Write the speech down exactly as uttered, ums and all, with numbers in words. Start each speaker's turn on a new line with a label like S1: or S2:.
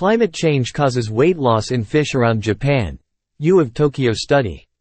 S1: Climate change causes weight loss in fish around Japan. U of Tokyo study.